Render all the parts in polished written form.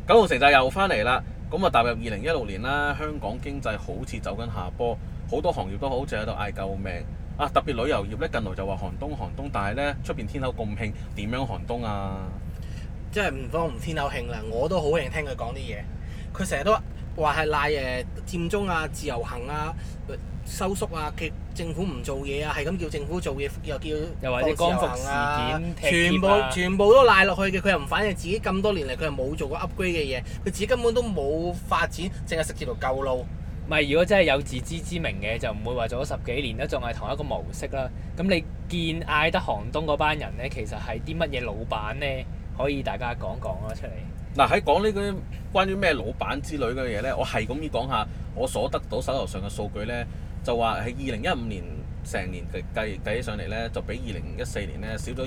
九龍城寨又翻嚟啦，咁啊踏入2016年啦，香港經濟好似走緊下坡，好多行業都好似喺度嗌救命啊！特別旅遊業咧，近來就話寒冬，但係咧出邊天口咁興，點樣寒冬啊？ 真係唔方唔天口興啦，我都好興聽佢講啲嘢。佢成日都話係賴佔中啊、自由行啊、收縮啊，政府唔做嘢啊，係咁叫政府做嘢，又或者光復事件全部都賴落去嘅。佢又唔反映自己咁多年嚟，佢又冇做過 upgrade 嘅嘢，佢自己根本都冇發展，淨係食住條舊路。 唔係，如果真係有自知之明嘅，就唔會話做咗10幾年都仲係同一個模式啦。咁你見嗌得寒冬嗰班人咧，其實係啲乜嘢老闆咧？可以大家講講啦出嚟。 嗱，喺講呢啲關於咩老闆之類嘅嘢咧，我係咁要講下我所得到手頭上嘅數據咧，就話喺2015年成年計起上嚟咧，就比2014年咧少咗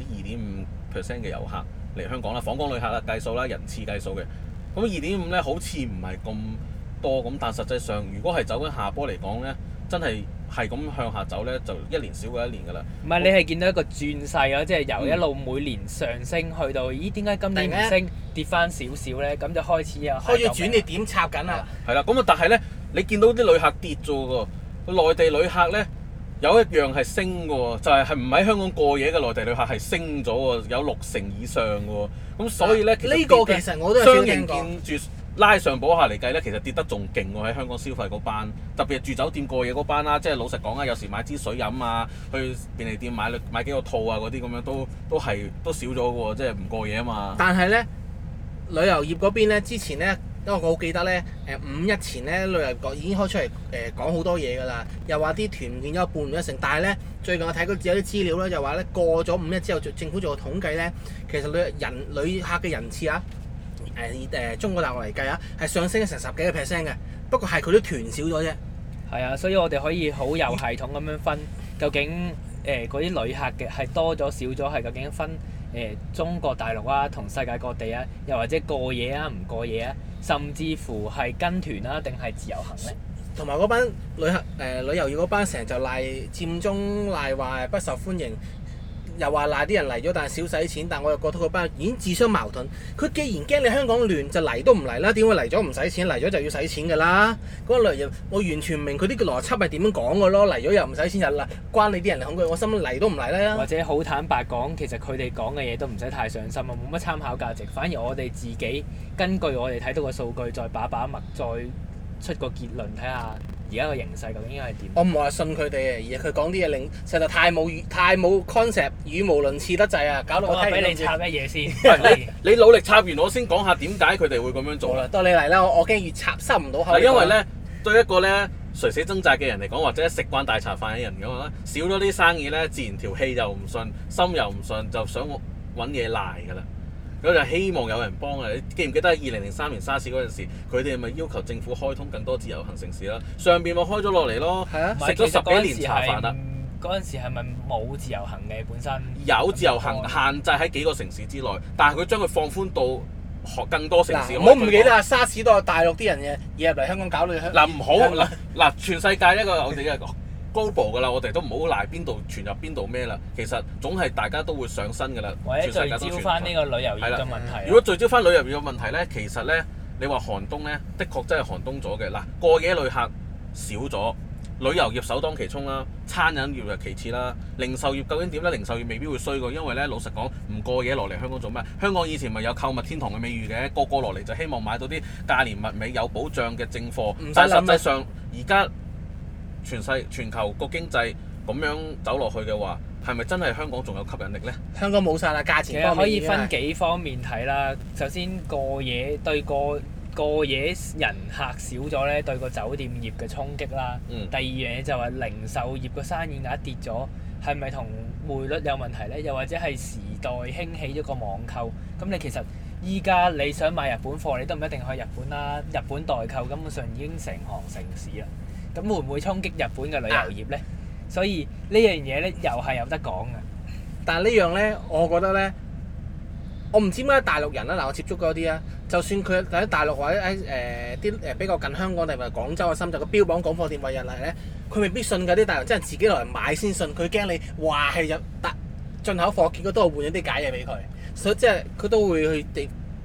2.5% 嘅遊客嚟香港啦，訪港旅客啦計數啦，人次計數嘅。咁2.5咧好似唔係咁多咁，但實際上如果係走緊下坡嚟講咧，真係咁向下走咧，就一年少過一年㗎啦。 唔係你係見到一個轉勢咯，即係由一路每年上升去到，咦點解今年唔升跌翻少少咧？咁就開始轉捩點插緊啦。 係啦，咁啊，但係咧，你見到啲旅客跌咗喎，內地旅客咧有一樣係升嘅喎，就係唔喺香港過夜嘅內地旅客係升咗喎，有60%以上嘅喎。咁所以咧， 呢個其實我都有相應見住拉上補下嚟計咧，其實跌得仲勁喎，喺香港消費嗰班，特別係住酒店過夜嗰班啦。即係老實講啊，有時買支水飲啊，去便利店買幾個套啊嗰啲咁樣都少咗嘅喎，即係唔過夜啊嘛。 但係咧，旅遊業嗰邊咧，之前咧，因為我好記得咧，五一前咧，旅遊業已經開出嚟講好多嘢㗎啦，又話啲團唔見咗一半唔一成，但係咧最近我睇過有啲資料咧，就話咧過咗五一之後，政府做個統計咧，其實旅客嘅人次啊。中國大陸嚟計啊，係上升咗成10幾個%嘅，不過係佢啲團少咗啫。 係啊，所以我哋可以好有系統咁樣分，究竟嗰啲旅客嘅係多咗少咗，係究竟分中國大陸啊同世界各地啊，又或者過夜啊唔過夜啊，甚至乎係跟團啊定係自由行咧？ 同埋嗰班旅遊業嗰班成日就賴佔中，賴話不受歡迎。又話賴啲人嚟咗，但係少使錢。但我又覺得嗰班已經自相矛盾。佢既然驚你香港亂，就嚟都唔嚟啦。點會嚟咗唔使錢？嚟咗就要使錢㗎啦。嗰個旅遊業我完全唔明佢啲邏輯係點樣講㗎咯。嚟咗又唔使錢就嚟，關你啲人恐懼。我心嚟都唔嚟啦。 或者好坦白講，其實佢哋講嘅嘢都唔使太上心啊，冇乜參考價值。反而我哋自己根據我哋睇到嘅數據，再把脈，再出個結論，睇下而家個形勢究竟係點？ 我唔係話信佢哋啊，而係佢講啲嘢令實在太冇 concept，語無倫次得滯啊，搞到我聽俾你插乜嘢先？ 你努力插完我先講下點解佢哋會咁樣做啦。 到你嚟啦，我驚越插收唔到口。 因為咧，對一個咧垂死掙扎嘅人嚟講，或者食慣大茶飯嘅人咁啦，少咗啲生意咧，自然條氣又唔順，心又唔順，就想揾嘢賴㗎啦。咁就希望有人幫啊！你記唔記得喺2003年沙士嗰陣時，佢哋咪要求政府開通更多自由行城市啦？上邊咪開咗落嚟咯，食咗10幾年茶飯啦。 嗰陣時係咪冇自由行嘅本身？ 有自由行限制喺幾個城市之內，但係佢將佢放寬到更多城市。 唔好唔記得啊！沙士都有大陸啲人嘅嘢入嚟香港搞到嗱唔好嗱全世界一個我哋一個global㗎啦，我哋都唔好賴邊度傳入邊度咩啦。其實總係大家都會上身㗎啦。 或者聚焦翻呢個旅遊業嘅問題。 如果聚焦翻旅遊業嘅問題咧，其實咧你話寒冬咧，的確真係寒冬咗嘅。嗱，過夜旅客少咗，旅遊業首當其衝啦，餐飲業就其次啦。零售業究竟點咧？零售業未必會衰㗎，因為咧老實講，唔過夜落嚟香港做咩？香港以前咪有購物天堂嘅美譽嘅，個落嚟就希望買到啲價廉物美有保障嘅正貨。但係實際上而家全球個經濟咁樣走落去嘅話，係咪真係香港仲有吸引力呢？ 香港冇晒啦，價錢方面其實可以分幾方面睇啦。首先過夜對過夜人客少咗咧，對個酒店業嘅衝擊啦。第二樣嘢就係零售業個生意額跌咗，係咪同匯率有問題咧？又或者係時代興起咗個網購？咁你其實依家你想買日本貨，你都唔一定去日本啦。日本代購根本上已經成行成市啦。咁會唔會衝擊日本嘅旅遊業咧？所以呢樣嘢咧又係有得講嘅。 但係呢樣咧，我覺得咧，我唔知點解大陸人啦，嗱我接觸嗰啲啊，就算佢喺大陸或者喺啲比較近香港定係廣州啊、深圳個標榜港貨店為日嚟咧，佢未必信㗎。啲大陸真係自己落嚟買先信，佢驚你話係入進口貨，結果都係換咗啲假嘢俾佢，所以即係佢都會去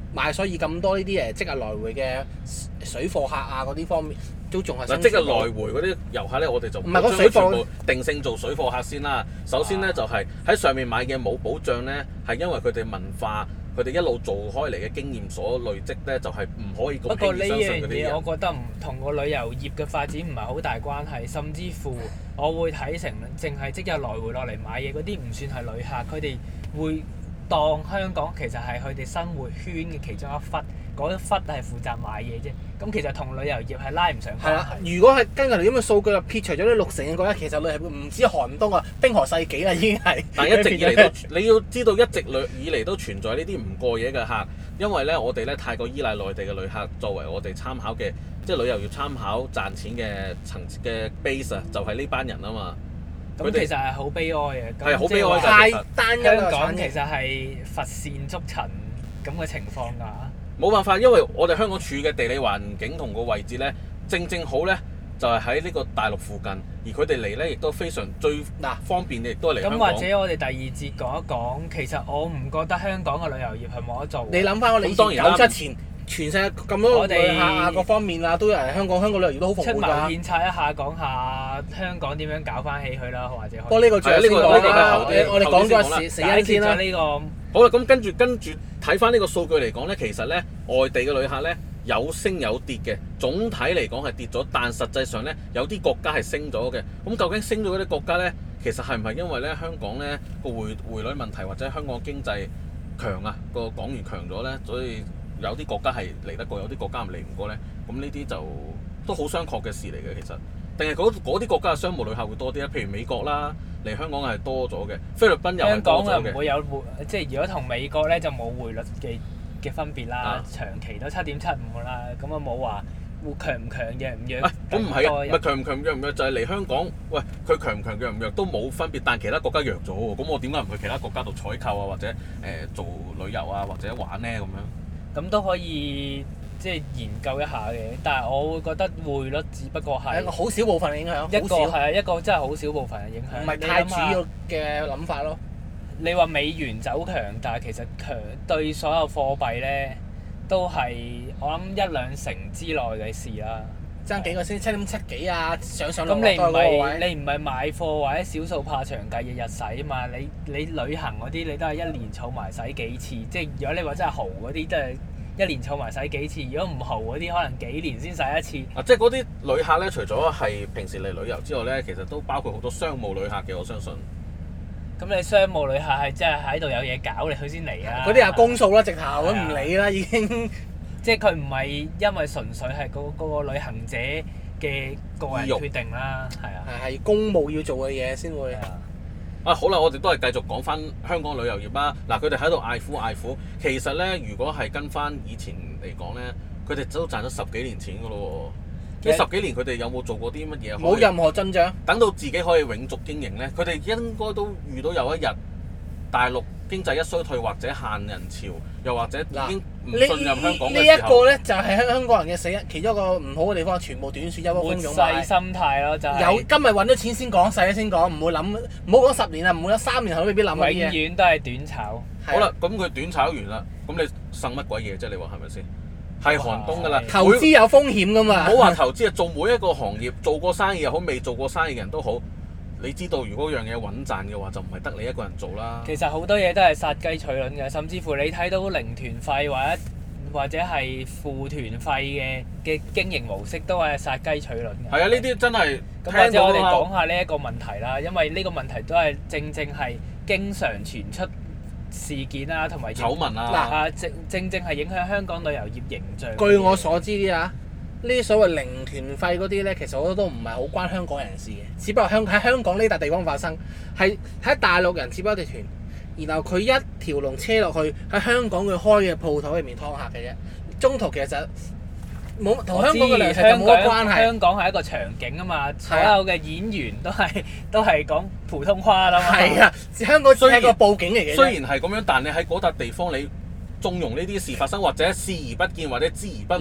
賣，所以咁多呢啲即日來回嘅水貨客啊嗰啲方面都仲係嗱，即日來回嗰啲遊客咧，我哋就唔係嗰水貨全部定性做水貨客先啦。首先咧就係喺上面買嘅冇保障咧，係因為佢哋文化。佢哋一路做開嚟嘅經驗所累積咧，就係唔可以咁輕易相信嗰啲人。 我覺得唔同個旅遊業嘅發展唔係好大關係，甚至乎我會睇成淨係即日來回落嚟買嘢嗰啲唔算係旅客，佢哋會當香港其實係佢哋生活圈嘅其中一忽，嗰一忽係負責買嘢啫。咁其實同旅遊業係拉唔上關係。係啦， 如果係根據嚟咁嘅數據，撇除咗呢60嘅國家，其實旅遊業唔止寒冬啊，冰河世紀啦已經係。 但一直以嚟都，你要知道一直以嚟都存在呢啲唔過夜嘅客，因為咧我哋咧太過依賴內地嘅旅客作為我哋參考嘅，即係旅遊業參考賺錢嘅層嘅 base 啊，就係呢班人啊嘛。 咁其實係好悲哀嘅。 係好悲哀㗎。 太單一香港其實係乏善足陳咁嘅情況㗎。 冇辦法，因為我哋香港處嘅地理環境同個位置咧，正好咧就係喺呢個大陸附近，而佢哋嚟咧亦都非常最方便嘅，亦都係嚟香港。 咁或者我哋第二節講一講，其實我唔覺得香港嘅旅遊業係冇得做。 你諗翻我哋97前，全世界咁多旅客啊，各方面啊都有人香港旅遊業都好蓬勃㗎。 出謀獻策一下，講下香港點樣搞翻起佢啦，或者可以。 不過呢個仲有先講啦，我哋講咗死因先啦。 呢個好啦，咁跟住睇翻呢個數據嚟講咧，其實咧外地嘅旅客咧有升有跌嘅，總體嚟講係跌咗，但實際上咧有啲國家係升咗嘅。咁究竟升咗嗰啲國家咧，其實係唔係因為咧香港咧個匯率問題或者香港經濟強啊，個港元強咗咧，所以有啲國家係嚟得過，有啲國家唔嚟唔過咧？咁呢啲就都好商榷嘅事嚟嘅，其實。定係嗰啲國家嘅商務旅客會多啲咧？譬如美國啦，嚟香港係多咗嘅，菲律賓又係多咗嘅。 香港唔會有即係如果同美國咧就冇匯率嘅分別啦，長期都7.75啦，咁啊冇話會強唔強弱唔弱。 咁唔係啊，唔係強唔強弱唔弱就係嚟香港，喂佢強唔強弱唔弱都冇分別，但其他國家弱咗喎，咁我點解唔去其他國家度採購啊，或者做旅遊啊，或者玩咧咁樣？ 咁都可以。即係研究一下嘅，但係我會覺得匯率只不過係一個好少部分嘅影響， 一個真係好少部分嘅影響， 唔係太主要嘅諗法咯。 你話美元走強，但係其實強對所有貨幣咧都係我諗1-2成之內嘅事啦。 爭幾個先7.7幾啊，上落咁你唔係買貨或者少數怕長計日日使啊嘛？你旅行嗰啲你都係1年儲埋使幾次，即係如果你話真係豪嗰啲，真係。1年儲埋使幾次，如果唔豪嗰啲，可能幾年先使一次。 即係嗰啲旅客咧，除咗係平時嚟旅遊之外咧，其實都包括好多商務旅客嘅，我相信。 咁你商務旅客係真係喺度有嘢搞，你佢先嚟啊！ 嗰啲係公數啦，直頭都唔理啦，已經。 即係佢唔係因為純粹係嗰個旅行者嘅個人決定啦，係啊。 係公務要做嘅嘢先會。 好啦，我哋都係繼續講翻香港旅遊業啦。嗱，佢哋喺度嗌苦，其實咧，如果係跟翻以前嚟講咧，佢哋都賺咗10幾年錢噶咯喎。呢10幾年佢哋有冇做過啲乜嘢？ 冇任何進賬。等到自己可以永續經營咧，佢哋應該都遇到有一日大陸經濟一衰退或者限人潮，又或者已經唔信任香港嘅時候。呢一個咧就係香港人嘅死因，其中一個唔好嘅地方，全部短視一窩蜂湧買。 末世心態咯，就係。 有今日揾咗錢先講，使先講，唔會諗，唔好講10年啦，唔好講3年後都未必諗嗰啲嘢。 永遠都係短炒。 好啦，咁佢短炒完啦，咁你剩乜鬼嘢啫？你話係咪先？係寒冬㗎啦。 投資有風險㗎嘛。 唔好話投資啊，做每一個行業，做過生意又好，未做過生意嘅人都好。你知道，如果樣嘢穩賺嘅話，就唔係得你一個人做啦。 其實好多嘢都係殺雞取卵嘅，甚至乎你睇到零團費或者係付團費嘅經營模式都係殺雞取卵嘅。 係啊，呢啲真係。 咁或者我哋講下呢一個問題啦，因為呢個問題都係正係經常傳出事件啦，同埋醜聞啊。 正係影響香港旅遊業形象。 據我所知啲啊。呢啲所謂零團費嗰啲咧，其實我覺得都唔係好關香港人事嘅，只不過喺香港呢笪地方發生，係喺大陸人接咗一隻團，然後佢一條龍車落去喺香港佢開嘅鋪頭入面劏客嘅啫，中途其實冇同香港嘅糧食就冇乜關係。 香港係一個場景啊嘛，所有嘅演員都係講普通話啦嘛。 係啊，香港只係一個佈景嚟嘅。 雖然係咁樣，但你喺嗰笪地方你縱容呢啲事發生，或者視而不見，或者知而不聞。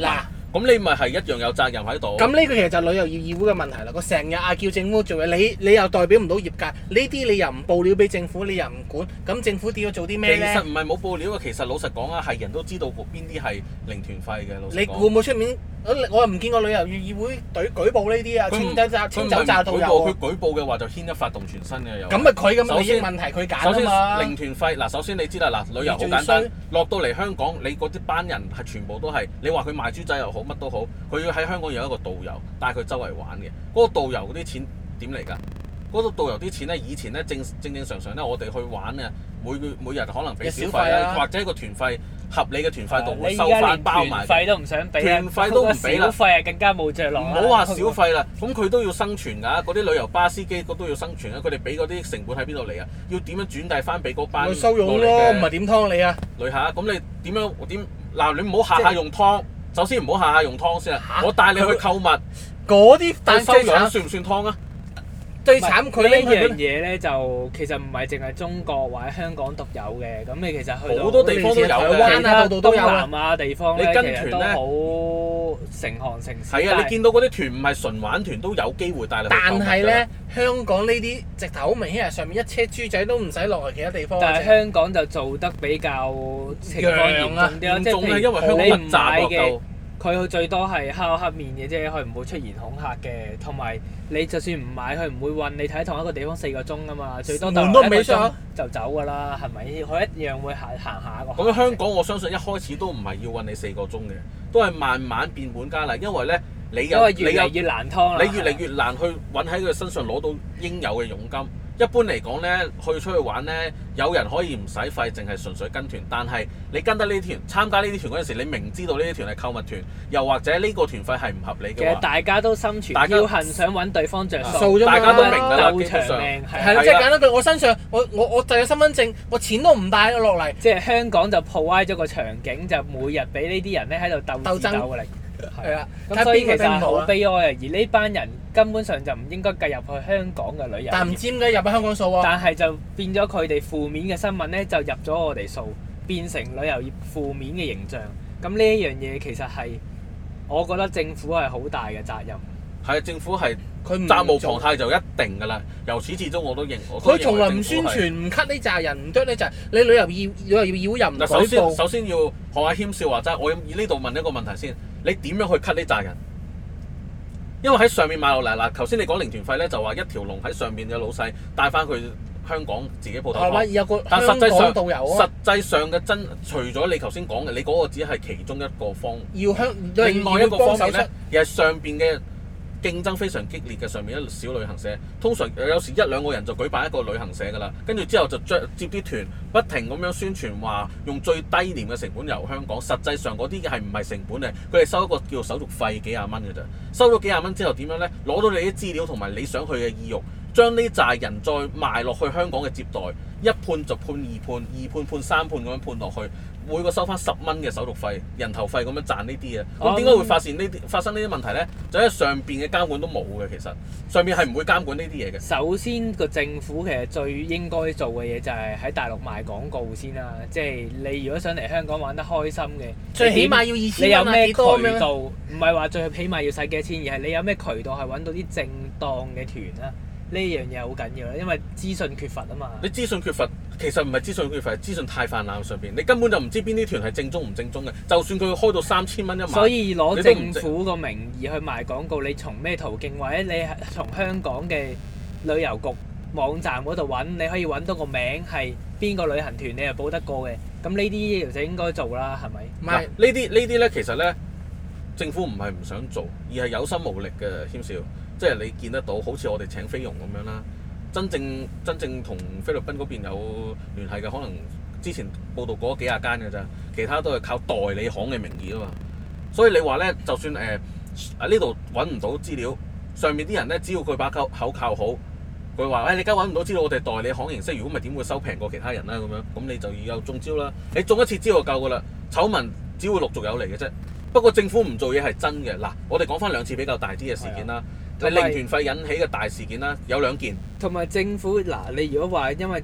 咁你咪係一樣有責任喺度。 咁呢個其實就係旅遊業議會嘅問題啦。佢成日叫政府做嘢，你又代表唔到業界，呢啲你又唔報料俾政府，你又唔管，咁政府點要做啲咩咧？ 其實唔係冇報料啊，其實老實講啊，係人都知道邊啲係零團費嘅。老實講， 你會唔會出面？我又唔見過旅遊業議會舉報呢啲啊，清走炸導遊佢舉報嘅話就牽一發動全身嘅又。 咁咪佢咁利益問題，佢揀啊嘛。 首先零團費嗱，首先你知啦嗱，旅遊好簡單，落到嚟香港，你嗰啲班人係全部都係你話佢賣豬仔又好，乜都好，佢要喺香港有一個導遊帶佢周圍玩嘅。嗰個導遊嗰啲錢點嚟㗎？嗰個導遊啲錢咧，以前咧正常咧，我哋去玩啊，每日可能俾小費啊，或者個團費合理嘅團費度會收翻包埋。 團費都唔想俾， 團費都唔俾啦。 小費啊更加冇着落。 唔好話小費啦，咁佢都要生存㗎。嗰啲旅遊巴司機都要生存啊。佢哋俾嗰啲成本喺邊度嚟啊？要點樣轉遞翻俾嗰班收佣咯，唔係點劏你啊？ 旅客咁你點樣點嗱？你唔好下下用劏，首先唔好下下用劏先啊！我帶你去購物， 嗰啲但收佣算唔算劏啊？ 最慘佢呢樣嘢咧，就其實唔係淨係中國或者香港獨有嘅，咁你其實去到好多地方都有嘅， 其他東南亞地方咧，其實都好成行成市。 係啊，你見到嗰啲團唔係純玩團都有機會帶你去購物㗎。 但係咧，香港呢啲直頭好明顯係上面一車豬仔都唔使落去其他地方。 但係香港就做得比較情況嚴重啲咯，即係譬如你唔買嘅。佢最多係敲黑面嘅啫，佢唔會出言恐嚇嘅。同埋你就算唔買，佢唔會韞你睇同一個地方4個鐘啊嘛，最多門都未上就走㗎啦，係咪？佢一樣會行下個。 咁香港我相信一開始都唔係要韞你4個鐘嘅，都係慢慢變本加厲，因為咧你越嚟越難劏啦，你越嚟越難去揾喺佢身上攞到應有嘅佣金。一般嚟講咧，出去玩咧，有人可以唔使費，淨係純粹跟團。但係你跟得呢啲團，參加呢啲團嗰陣時，你明知道呢啲團係購物團，又或者呢個團費係唔合理嘅話， 其實大家都心存僥倖，想揾對方着數， 大家都明㗎啦， 鬥長命係啦，即係簡單句，我身上我就有身份證，我錢都唔帶落嚟。 即係香港就 provide 咗個場景，就每日俾呢啲人咧喺度鬥智鬥力。 係啊， 咁所以其實係好悲哀啊！而呢班人根本上就唔應該計入去香港嘅旅遊業。 但唔知點解入咗香港數喎？ 但係就變咗佢哋負面嘅新聞咧，就入咗我哋數，變成旅遊業負面嘅形象。咁呢一樣嘢其實係我覺得政府係好大嘅責任。 係啊，政府係佢責無旁貸就一定㗎啦。由始至終我都認， 佢從來唔宣傳，唔 cut 呢扎人，唔啄呢扎。你旅遊議會又唔舉報。 首先要學阿謙笑話齋，我呢度問一個問題先。你點樣去 cut 呢扎人？因為喺上面買落嚟嗱，頭先你講零團費咧，就話一條龍喺上面嘅老細帶翻佢香港自己鋪頭。 有個香港導遊啊。 實際上嘅除咗你頭先講嘅，你嗰個只係其中一個方。另外一個方面咧，而係上邊嘅競爭非常激烈嘅上面一小旅行社，通常有時1、2個人就舉辦一個旅行社㗎啦，跟住之後就接啲團，不停咁樣宣傳話用最低廉嘅成本遊香港，實際上嗰啲係唔係成本嘅？佢哋收一個叫做手續費幾廿蚊嘅啫，收咗幾廿蚊之後點樣咧？攞到你啲資料同埋你想去嘅意欲，將呢扎人再賣落去香港嘅接待，一判就判2判，2判判3判咁樣判落去。每個收翻10蚊嘅手續費、人頭費咁樣賺呢啲啊，咁點解會發生呢啲問題咧？就因為上邊嘅監管都冇嘅，其實上邊係唔會監管呢啲嘢嘅。 首先個政府其實最應該做嘅嘢就係喺大陸賣廣告先啦，即係你如果想嚟香港玩得開心嘅， 最起碼要2000蚊， 你有咩渠道？唔係話最起碼要使幾多錢，而係你有咩渠道係揾到啲正當嘅團啊？呢樣嘢好緊要啦，因為資訊缺乏啊嘛。 你資訊缺乏，其實唔係資訊缺乏，係資訊太泛濫上邊，你根本就唔知邊啲團係正宗唔正宗嘅。就算佢開到3000蚊一晚， 所以攞政府個名義去賣廣告，你從咩途徑，或者你係從香港嘅旅遊局網站嗰度揾，你可以揾到個名係邊個旅行團，你係報得過嘅。咁呢啲就應該做啦，係咪？ 唔係呢啲咧，其實咧政府唔係唔想做，而係有心無力嘅，謙少。即係你見得到，好似我哋請菲傭咁樣啦，真正同菲律賓嗰邊有聯繫嘅，可能之前報道過幾廿間嘅咋，其他都係靠代理行嘅名義啊嘛。所以你話咧，就算呢度揾唔到資料，上面啲人咧，只要佢把口靠好，佢話你而家揾唔到資料，我哋代理行形式，如果唔係點會收平過其他人啦咁樣，咁你就要有中招啦。你中一次招就夠㗎啦，醜聞只會陸續有嚟嘅啫。不過政府唔做嘢係真嘅。嗱，我哋講翻2次比較大啲嘅事件啦。零團費引起嘅大事件啦，有2件。 同埋政府嗱，你如果話因為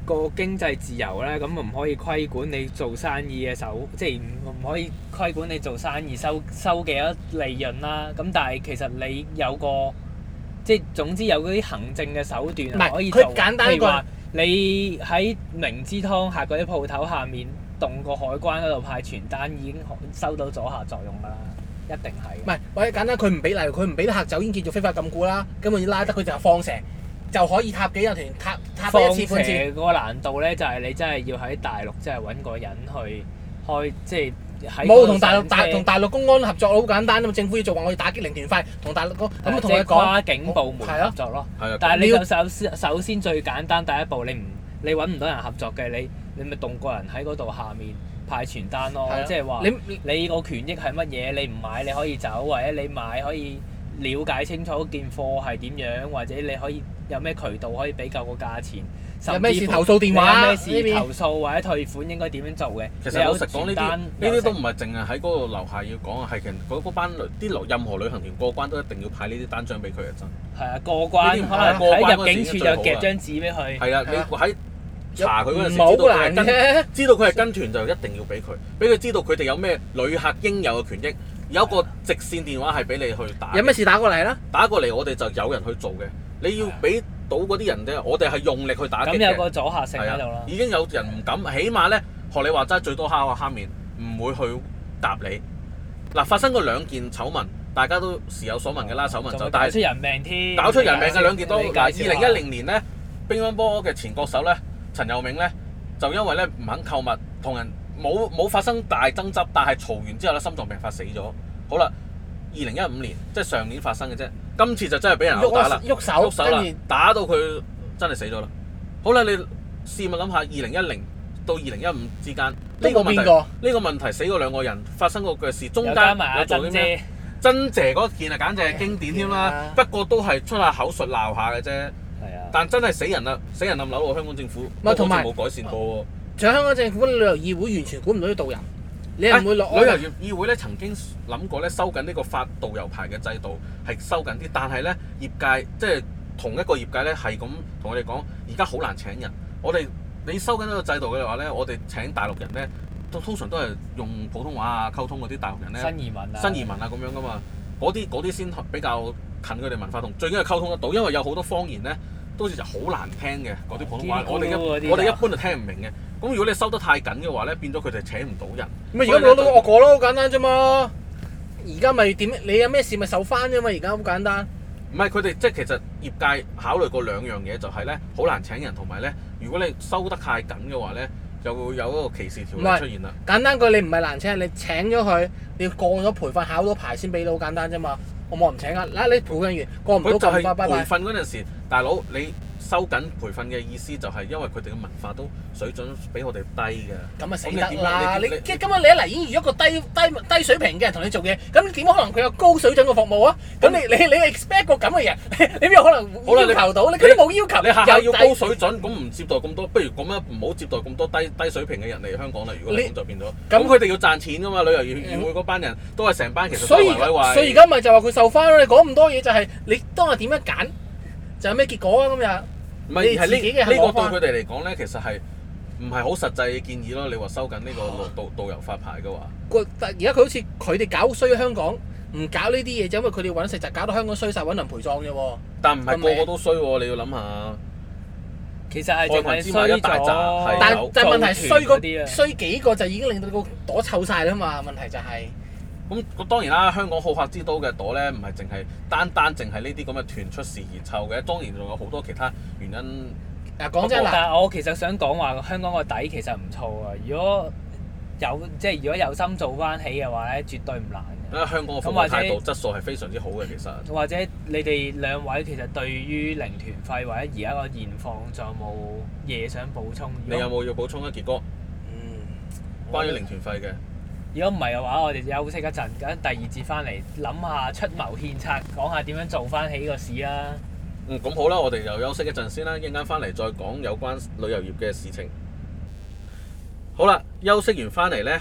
個經濟自由咧，咁唔可以規管你做生意嘅即係唔可以規管你做生意收幾多利潤啦。咁但係其實你有個即係總之有嗰啲行政嘅手段唔係可以做， 佢簡單譬如話你喺明知湯客嗰啲鋪頭下面動個海關嗰度派傳單，已經收到阻嚇作用㗎啦，一定係。 唔係，或者簡單，佢唔俾例如佢唔俾啲客走，已經叫做非法禁錮啦。根本要拉得佢就係放蛇，就可以塔幾個團，塔多一次半次。 放蛇個難度咧，就係你真係要喺大陸，即係揾個人去開，即係喺冇同大陸公安合作好簡單啊嘛！政府要做話，我要打擊零團費，同大陸咁同佢講跨境部門合作咯。 係啊， 但係你就首先最簡單第一步，你揾唔到人合作嘅，你咪動個人喺嗰度下面派傳單咯。即係話你個權益係乜嘢？你唔買你可以走，或者你買可以了解清楚件貨係點樣，或者你可以有咩渠道可以比較個價錢。 有咩事投訴電話？ 有咩事投訴或者退款應該點樣做嘅？ 其實老實講，呢啲都唔係淨係喺嗰個樓下要講啊，係其實嗰班任何旅行團過關都一定要派呢啲單張俾佢啊！真係啊，過關可能喺入境處就夾張紙俾佢。 係啊，你喺查佢嗰陣時知道佢係跟團就一定要俾佢知道佢哋有咩旅客應有嘅權益。有一個直線電話係俾你去打。 有咩事打過嚟啦？ 打過嚟我哋就有人去做嘅。你要俾到嗰啲人啫，我哋係用力去打擊嘅。 咁有個阻嚇性喺度啦。 已經有人唔敢，起碼咧學你話齋，最多蝦下蝦面，唔會去答你。嗱，發生過2件醜聞，大家都時有所聞嘅啦。醜聞就搞出人命添。 搞出人命嘅2件都。2010年咧，乒乓波嘅前國手咧，陳佑銘咧，就因為咧唔肯購物，同人冇發生大爭執，但係嘈完之後咧，心臟病發死咗。好啦，2015年即係上年發生嘅啫，今次就真係俾人毆打啦，喐手啦，打到佢真係死咗啦。好啦，你試問諗下，2010到2015之間呢個問題死過2個人，發生過嘅事，中間有做啲咩？珍姐嗰件啊，簡直係經典添啦。不過都係出下口述鬧下嘅啫。係啊。但真係死人啦，死人冧樓喎！香港政府同埋冇改善過喎。 仲有香港政府旅遊議會完全管唔到啲導遊，你係唔會落。 旅遊業議會咧曾經諗過咧收緊呢個發導遊牌嘅制度係收緊啲，但係咧業界即係同一個業界咧係咁同我哋講，而家好難請人。你收緊呢個制度嘅話咧，我哋請大陸人咧通常都係用普通話啊溝通嗰啲大陸人咧。新移民啊咁樣噶嘛，嗰啲先比較近佢哋文化，同最緊係溝通得到，因為有好多方言咧都好似就好難聽嘅嗰啲普通話，我哋一般就聽唔明嘅。咁如果你收得太緊嘅話咧，變咗佢哋請唔到人。 咁而家攞到惡果咯，好簡單啫嘛。而家咪點？你有咩事咪受翻啫嘛。而家好簡單。 唔係佢哋即係其實業界考慮過2樣嘢，就係咧好難請人，同埋咧如果你收得太緊嘅話咧，就會有一個歧視條例出現啦。 簡單句，你唔係難請，你請咗佢，你要過咗培訓考到牌先俾到，好簡單啫嘛。我冇人請啊！嗱，你培訓完過唔到就係培訓嗰陣時，大佬你收緊培訓嘅意思就係因為佢哋嘅文化都水準比我哋低嘅。 咁啊死得啦！你今日你一嚟已經遇一個低水平嘅人同你做嘢，咁點可能佢有高水準嘅服務啊？咁你 expect 個咁嘅人，你邊有可能要求到？你佢都冇要求。 你下下要高水準，咁唔接待咁多，不如咁樣唔好接待咁多低水平嘅人嚟香港啦。如果咁就變咗，咁佢哋要賺錢噶嘛？旅遊業議會嗰班人都係成班其實都係維維。 所以而家咪就話佢受翻咯。你講咁多嘢就係你當日點樣揀，就有咩結果啊？今日。 唔係係呢個對佢哋嚟講咧，其實係唔係好實際嘅建議咯？你話收緊呢個導遊發牌嘅話， 而家佢好似佢哋搞衰香港，唔搞呢啲嘢，就因為佢哋揾食就搞到香港衰晒，揾人陪葬啫喎。 但唔係個個都衰喎，你要諗下。 其實係淨係衰咗， 但係問題衰幾個就已經令到個朵臭晒啦嘛。問題就係。 咁當然啦，香港好客之都嘅朵咧，唔係淨係單淨係呢啲咁嘅團出事而臭嘅，當然仲有好多其他原因。 講真啦， 但係我其實想講話香港個底其實唔錯啊！如果有心做翻起嘅話咧，絕對唔難嘅。 因為香港嘅服務態度質素係非常之好嘅，其實。 或者你哋2位其實對於零團費或者而家個現況，仲有冇嘢想補充？ 你有冇要補充啊，傑哥？關於零團費嘅。 如果唔係嘅話，我哋休息一陣，咁第2節翻嚟諗下出謀獻策，講下點樣做翻起個市啦。 咁好啦，我哋就休息一陣先啦，一陣間翻嚟再講有關旅遊業嘅事情。好啦，休息完翻嚟咧，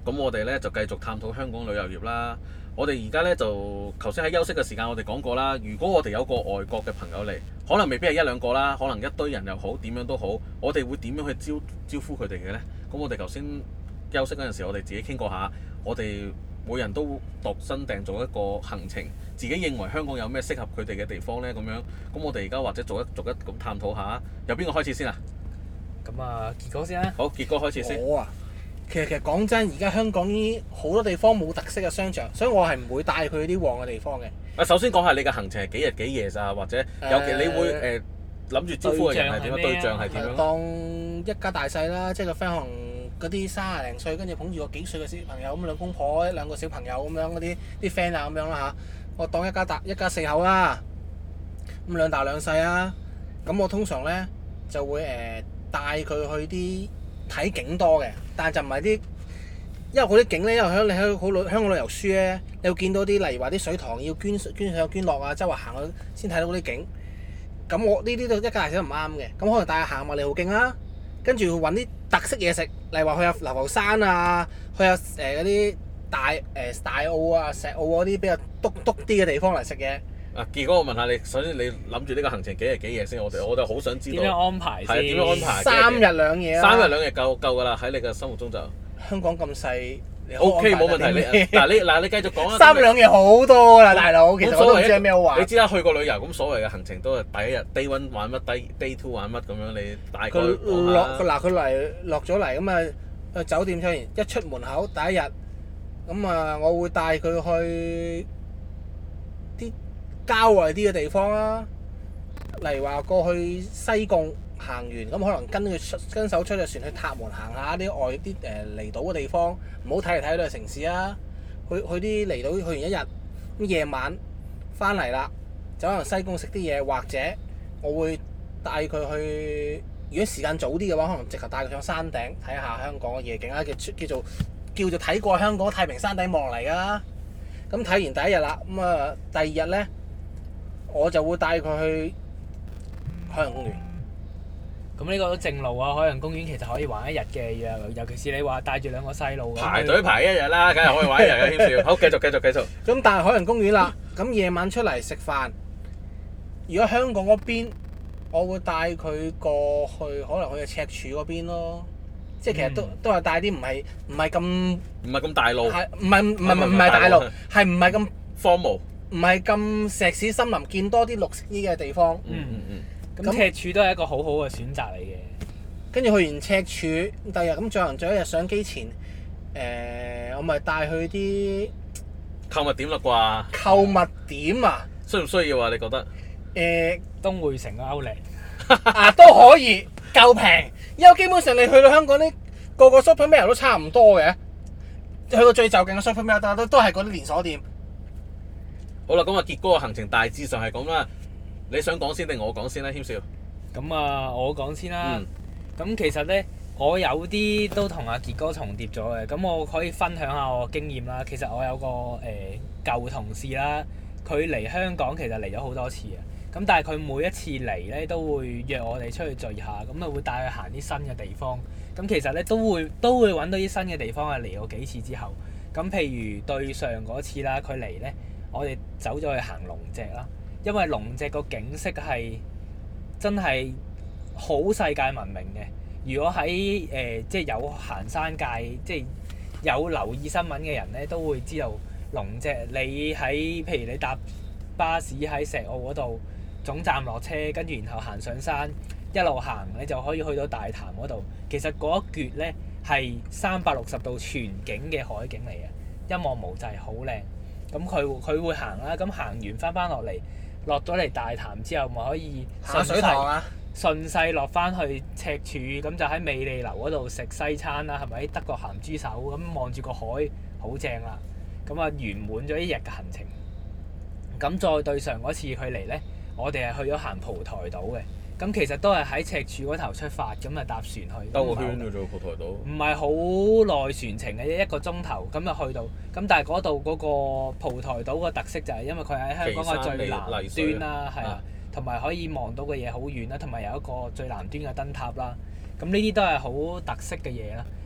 咁我哋咧就繼續探討香港旅遊業啦。我哋而家咧就頭先喺休息嘅時間，我哋講過啦。如果我哋有個外國嘅朋友嚟，可能未必係一兩個啦，可能一堆人又好，點樣都好，我哋會點樣去招呼佢哋嘅咧？咁我哋頭先休息嗰陣時，我哋自己傾過下，我哋每人都度身訂做一個行程，自己認為香港有咩適合佢哋嘅地方咧？咁樣，咁我哋而家或者逐一咁探討下。由邊個開始先啊？ 咁啊，傑哥先啦。 好，傑哥開始先。 我啊，其實講真，而家香港呢好多地方冇特色嘅商場，所以我係唔會帶佢去啲旺嘅地方嘅。 啊，首先講下你嘅行程係幾日幾夜咋，或者尤其你會諗住招呼嘅人係點樣？對象係點樣？ 當一家大細啦，即係個 friend 可能嗰啲30零歲，跟住捧住個幾歲嘅小朋友咁，兩公婆兩個小朋友咁樣嗰啲 friend 啊咁樣啦嚇。我當一家四口啦，咁兩大兩細啊。咁我通常咧就會帶佢去啲睇景多嘅，但係就唔係啲，因為嗰啲景咧，因為你喺香港旅遊書咧，你會見到啲例如話啲水塘要捐上捐落啊，周圍行去先睇到嗰啲景。咁我呢啲都一家大細都唔啱嘅，咁可能帶佢行麥理浩徑啦，跟住揾啲特色嘢食，例如話去下流浮山啊，去下嗰啲大澳啊、石澳嗰啲比較篤啲嘅地方嚟食嘢。 啊，傑哥，我問下你，首先你諗住呢個行程幾日幾夜先？我哋好想知道點樣安排先？ 係點樣安排 ？3日2夜啦。 3日2夜夠㗎啦，喺你嘅心目中就。 香港咁細。 OK，冇問題。你繼續講啦。 3日2夜好多啦，大佬。其實我都唔知有咩好玩。 你知啦，去過旅遊咁所謂嘅行程都係第一日 Day 1玩乜，Day 2玩乜咁樣，你大概講下。 佢落咗嚟咁啊，去酒店出完一出門口第一日，咁啊，我會帶佢去啲郊外啲嘅地方啦，例如話過去西貢行完，咁可能跟手出隻船去塔門行下啲外啲離島嘅地方，唔好睇嚟睇去都係城市啊。去啲離島去完一日，咁夜晚翻嚟啦，就可能西貢食啲嘢，或者我會帶佢去，如果時間早啲嘅話，可能直頭帶佢上山頂睇下香港嘅夜景啦，叫做睇過香港太平山頂望嚟㗎。咁睇完第一日啦，咁啊第二日咧，我就會帶佢去海洋公園。 咁呢個都正路啊！海洋公園其實可以玩一日嘅，尤其是你話帶住兩個細路排隊排一日啦，梗係可以玩一日嘅添少。好，繼續。 咁但係海洋公園啦，咁夜晚出嚟食飯，如果香港嗰邊，我會帶佢過去，可能去赤柱嗰邊咯。即係其實都係帶啲唔係咁大路， 唔係大路，係唔係咁荒蕪，唔係咁石屎森林，見多啲綠色啲嘅地方。 咁赤柱都係一個好好嘅選擇嚟嘅。 跟住去完赤柱，第二日咁最後一日上機前，我咪帶去啲購物點啦啩？ 購物點啊？ 需唔需要啊？你覺得？ 東匯城嘅Outlet 都可以，夠平。因為基本上你去到香港啲個 Supermall 都差唔多嘅，去到最就近嘅 Supermall 都係嗰啲連鎖店。 好啦，咁啊傑哥嘅行程大致上係咁啦。你想講先定我講先咧，謙少？ 咁啊，我講先啦。咁其實咧，我有啲都同阿傑哥重疊咗嘅。咁我可以分享下我經驗啦。其實我有個舊同事啦，佢嚟香港其實嚟咗好多次嘅。咁但係佢每一次嚟咧，都會約我哋出去聚下，咁啊會帶佢行啲新嘅地方。咁其實咧都會揾到啲新嘅地方啊！嚟過幾次之後，咁譬如對上嗰次啦，佢嚟咧，我哋走咗去行龍脊啦。因為龍脊個景色係真係好世界聞名嘅。如果喺即係有行山界，即係有留意新聞嘅人咧，都會知道龍脊。你喺譬如你搭巴士喺石澳嗰度總站落車，跟住然後行上山，一路行你就可以去到大潭嗰度。其實嗰一橛咧係360度全景嘅海景嚟嘅，一望無際，好靚。咁佢會行啦，咁行完翻落嚟。落咗嚟大潭之後，咪可以順勢落翻去赤柱，咁就喺美利樓嗰度食西餐啦，係咪？德國鹹豬手咁望住個海，好正啦！咁啊圓滿咗一日嘅行程。咁再對上嗰次佢嚟咧，我哋係去咗行蒲台島嘅。咁其實都係喺赤柱嗰頭出發，咁啊搭船去。 兜個圈嘅啫，蒲台島。 唔係好耐船程嘅啫，1個鐘頭咁就去到。咁但係嗰度嗰個蒲台島個特色就係因為佢喺香港嘅最南端啦，係啊，同埋可以望到嘅嘢好遠啦，同埋有一個最南端嘅燈塔啦。咁呢啲都係好特色嘅嘢啦。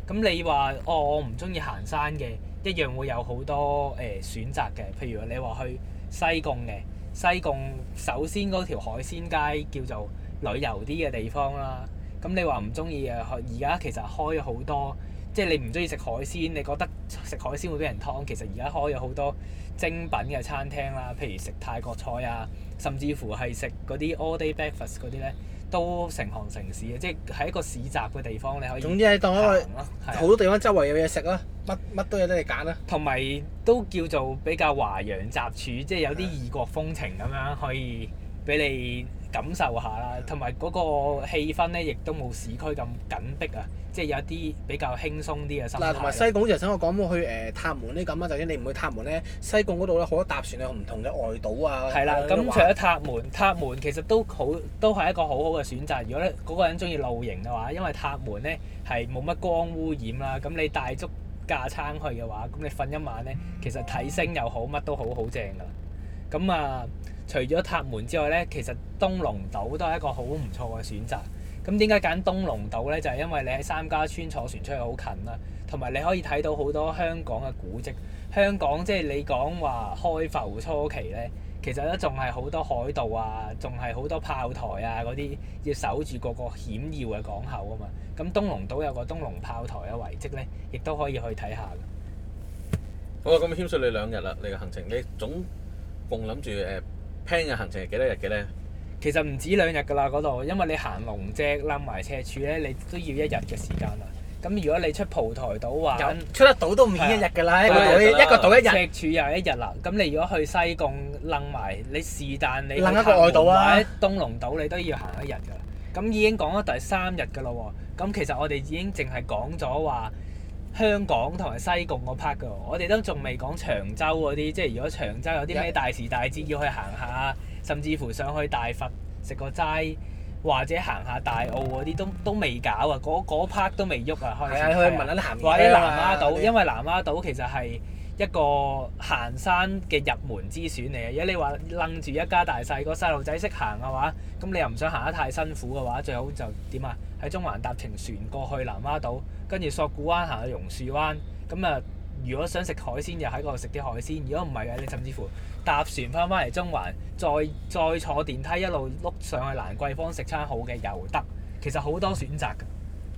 咁你話我唔中意行山嘅，一樣會有好多選擇嘅。譬如你話去西貢嘅，西貢首先嗰條海鮮街叫做旅遊啲嘅地方啦。咁你話唔中意嘅，而家其實開咗好多，即係你唔中意食海鮮，你覺得食海鮮會俾人劏，其實而家開咗好多精品嘅餐廳啦，譬如食泰國菜啊，甚至乎係食嗰啲 all day breakfast 嗰啲咧，都成行成市嘅，即係喺一個市集嘅地方你可以。 總之係當一個好好多地方周圍有嘢食啦，乜都有得你揀啦。 同埋都叫做比較華洋雜處，即係有啲異國風情咁樣可以俾你感受下啦。同埋嗰個氣氛咧，亦都冇市區咁緊迫啊，即係有啲比較輕鬆啲嘅心態。 嗱，同埋西貢好似頭先我講去塔門呢咁啊，就算你唔去塔門咧，西貢嗰度咧好多搭船有唔同嘅外島啊。 係啦，咁除咗塔門其實都係一個好好嘅選擇。如果咧嗰個人中意露營嘅話，因為塔門咧係冇乜光污染啦，咁你帶足架撐去嘅話，咁你瞓一晚咧，其實睇星又好，乜都好正㗎。咁啊，除咗塔門之外咧，其實東龍島都係一個好唔錯嘅選擇。咁點解揀東龍島咧？就係因為你喺三家村坐船出去好近啦，同埋你可以睇到好多香港嘅古蹟。香港即係你講話開埠初期咧，其實都仲係好多海盜啊，仲係好多炮台啊嗰啲要守住個險要嘅港口啊嘛。咁東龍島有個東龍炮台嘅遺蹟咧，亦都可以去睇下嘅。 好啊，咁謙遜你2日啦，你嘅行程，你總共諗住plan 嘅行程係幾多日嘅咧？ 其實唔止2日㗎啦，嗰度，因為你行龍脊、冧埋赤柱咧，你都要1日嘅時間啦。咁如果你出蒲台島玩， 出得島都唔止1日㗎啦，一個島1日。 赤柱又1日啦。咁你如果去西貢冧埋，你是但你冧一個外島啊， 或者東龍島你都要行1日㗎啦。咁已經講咗第3日㗎啦喎。咁其實我哋已經淨係講咗話香港同埋西貢嗰 part 㗎，我哋都仲未講長洲嗰啲，即係如果長洲有啲咩大時大節要去行下，甚至乎上去大佛食個齋，或者行下大澳嗰啲都未搞啊！嗰 part 都未喐啊，開始。係啊， 去聞下啲鹹嘢啊。 或者南丫島，因為南丫島其實係一個行山嘅入門之選嚟嘅。如果你話楞住一家大細個細路仔識行嘅話，咁你又唔想行得太辛苦嘅話，最好就點啊？喺中環搭程船過去南丫島，跟住索罟灣行去榕樹灣。咁啊，如果想食海鮮，又喺嗰度食啲海鮮。如果唔係嘅，你甚至乎搭船翻嚟中環，再坐電梯一路碌上去蘭桂坊食餐好嘅又得。其實好多選擇㗎。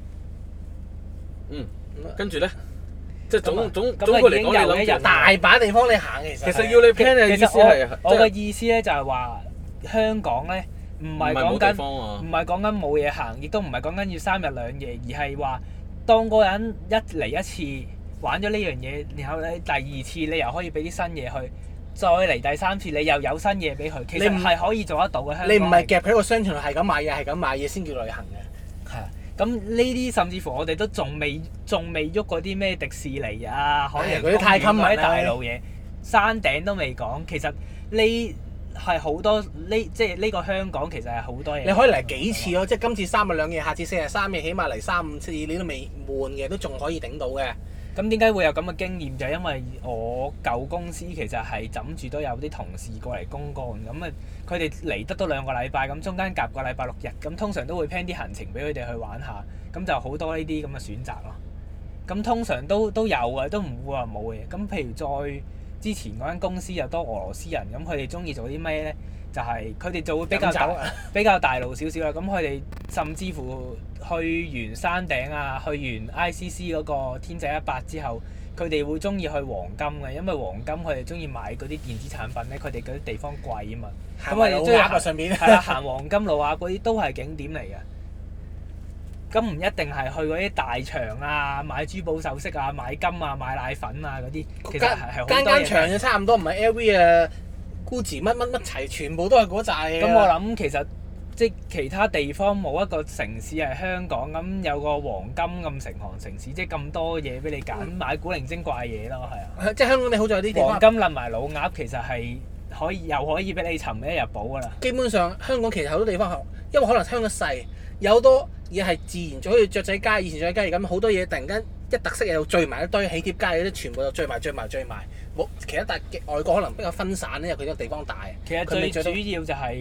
跟住咧，即係總括嚟講，你諗住大把地方你行其實要你 plan 嘅意思係， 我嘅意思咧就係話香港咧唔係講緊冇嘢行，亦都唔係講緊要3日2夜，而係話當個人一嚟一次玩咗呢樣嘢，然後咧第2次你又可以俾啲新嘢去，再嚟第3次你又有新嘢俾佢，其實係可以做得到嘅。香港你唔係夾喺個商場度係咁買嘢先叫旅行嘅。 係啊，咁呢啲甚至乎我哋都仲未喐嗰啲咩迪士尼啊、海洋公園嗰啲大路嘢，山頂都未講。其實呢係好多即係呢個香港其實係好多嘢。 你可以嚟幾次咯，即係今次3日2夜，下次4日3夜，起碼嚟3-5次，你都未悶嘅，都仲可以頂到嘅。 咁點解會有咁嘅經驗？就係因為我舊公司其實係枕住都有啲同事過嚟公幹，咁啊佢哋嚟得都2個禮拜，咁中間夾個禮拜6日，咁通常都會 plan 啲行程俾佢哋去玩下，咁就好多呢啲咁嘅選擇咯。咁通常都有嘅，都唔會話冇嘅。咁譬如再之前嗰間公司又多俄羅斯人，咁佢哋中意做啲咩咧？就係佢哋就會比較大路少少啦。咁佢哋甚至乎去完山頂啊，去完 ICC 嗰個天際100之後，佢哋會中意去黃金嘅，因為黃金佢哋中意買嗰啲電子產品咧，佢哋嗰啲地方貴啊嘛。咁佢哋中意上面係啦，行黃金路啊嗰啲都係景點嚟嘅。咁唔一定係去嗰啲大場啊，買珠寶首飾啊，買金啊，買奶粉啊嗰啲，其實係好多嘢。 間場嘅差唔多，唔係 LV 啊、Gucci 乜齊，全部都係嗰扎嘢。 咁我諗其實即係其他地方冇一個城市係香港咁有個黃金咁成行成市，即係咁多嘢俾你揀，買古靈精怪嘢咯，係啊。 即係香港你好在有啲地方黃金冧埋老鴨，其實係又可以俾你尋一日寶㗎啦。 基本上香港其實好多地方，因為可能香港細，有好多嘢係自然咗，好似雀仔街、以前雀仔街咁，好多嘢突然間一特色嘢又聚埋一堆，喜帖街嗰啲全部就聚埋，冇其他外國可能比較分散咧，因為佢個地方大。 其實最主要就係